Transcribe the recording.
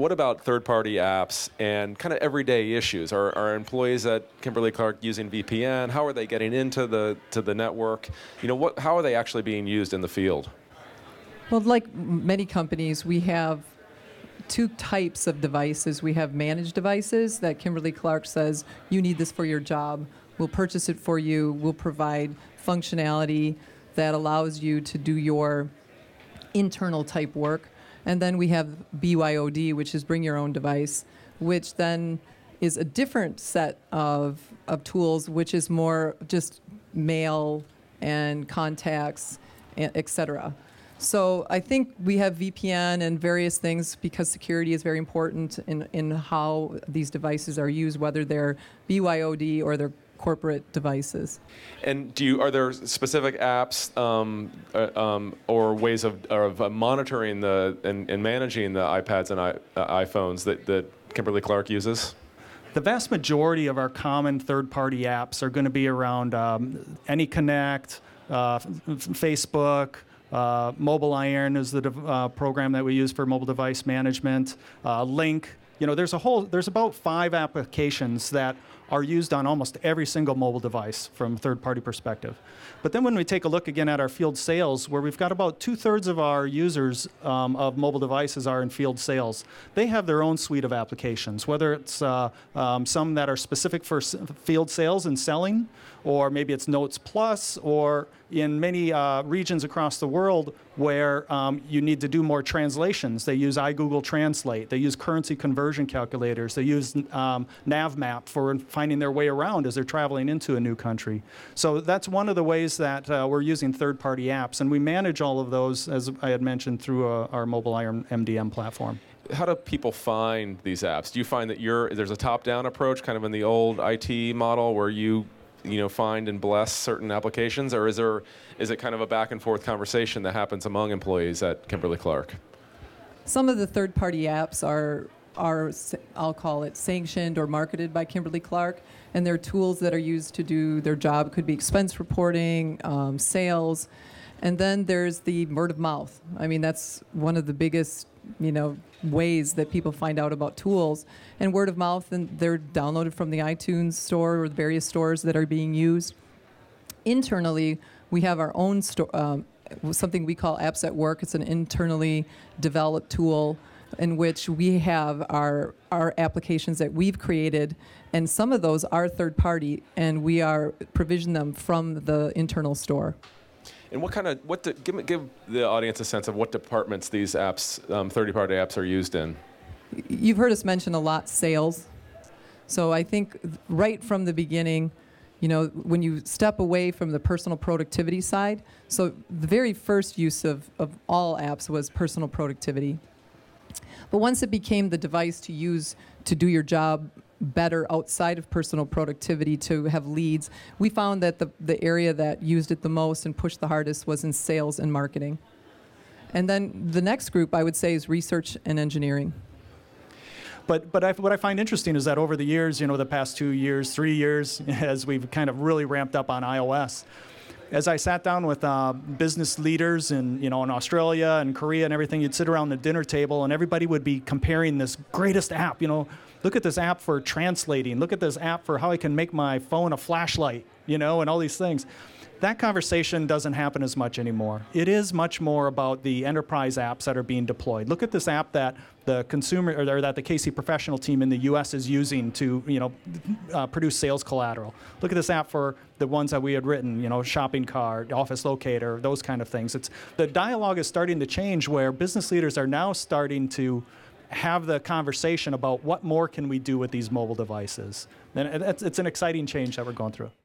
what about third-party apps and kind of everyday issues? Are employees at Kimberly-Clark using VPN? How are they getting into the network? How are they actually being used in the field? Well, like many companies, we have two types of devices. We have managed devices that Kimberly-Clark says, you need this for your job. We'll purchase it for you. We'll provide functionality that allows you to do your internal type work. And then we have BYOD, which is bring your own device, which then is a different set of tools, which is more just mail and contacts, et cetera. So I think we have VPN and various things because security is very important in how these devices are used, whether they're BYOD or they're corporate devices. And are there specific apps or ways of monitoring and managing the iPads and iPhones that Kimberly-Clark uses? The vast majority of our common third-party apps are going to be around AnyConnect, Facebook. Mobile Iron is the program that we use for mobile device management. Link. There's about 5 applications that are used on almost every single mobile device from a third-party perspective. But then when we take a look again at our field sales, where we've got about 2/3 of our users of mobile devices are in field sales, they have their own suite of applications, whether it's some that are specific for field sales and selling, or maybe it's Notes Plus, or in many regions across the world where you need to do more translations. They use iGoogle Translate. They use currency conversion calculators. They use NavMap for finding their way around as they're traveling into a new country. So that's one of the ways that we're using third-party apps. And we manage all of those, as I had mentioned, through our Mobile Iron MDM platform. How do people find these apps? Do you find that there's a top-down approach, kind of in the old IT model, where you find and bless certain applications, or is it kind of a back and forth conversation that happens among employees at Kimberly-Clark? Some of the third-party apps are, I'll call it, sanctioned or marketed by Kimberly-Clark, and they're tools that are used to do their job. Could be expense reporting, sales, and then there's the word of mouth. I mean, that's one of the biggest ways that people find out about tools, and word of mouth, and they're downloaded from the iTunes store or the various stores that are being used. Internally, we have our own something we call Apps at Work. It's an internally developed tool in which we have our applications that we've created, and some of those are third party, and we are provision them from the internal store. And give the audience a sense of what departments these apps, third-party apps, are used in. You've heard us mention a lot sales. So I think right from the beginning, when you step away from the personal productivity side, so the very first use of all apps was personal productivity. But once it became the device to use to do your job better outside of personal productivity, to have leads, we found that the area that used it the most and pushed the hardest was in sales and marketing. And then the next group, I would say, is research and engineering. But what I find interesting is that over the years, the past 2 years, 3 years, as we've kind of really ramped up on iOS, as I sat down with business leaders in Australia and Korea and everything, you'd sit around the dinner table and everybody would be comparing this greatest app. Look at this app for translating. Look at this app for how I can make my phone a flashlight, and all these things. That conversation doesn't happen as much anymore. It is much more about the enterprise apps that are being deployed. Look at this app that the consumer or that the KC Professional team in the U.S. is using to produce sales collateral. Look at this app for the ones that we had written, shopping cart, office locator, those kind of things. The dialogue is starting to change where business leaders are now starting to have the conversation about what more can we do with these mobile devices. And it's an exciting change that we're going through.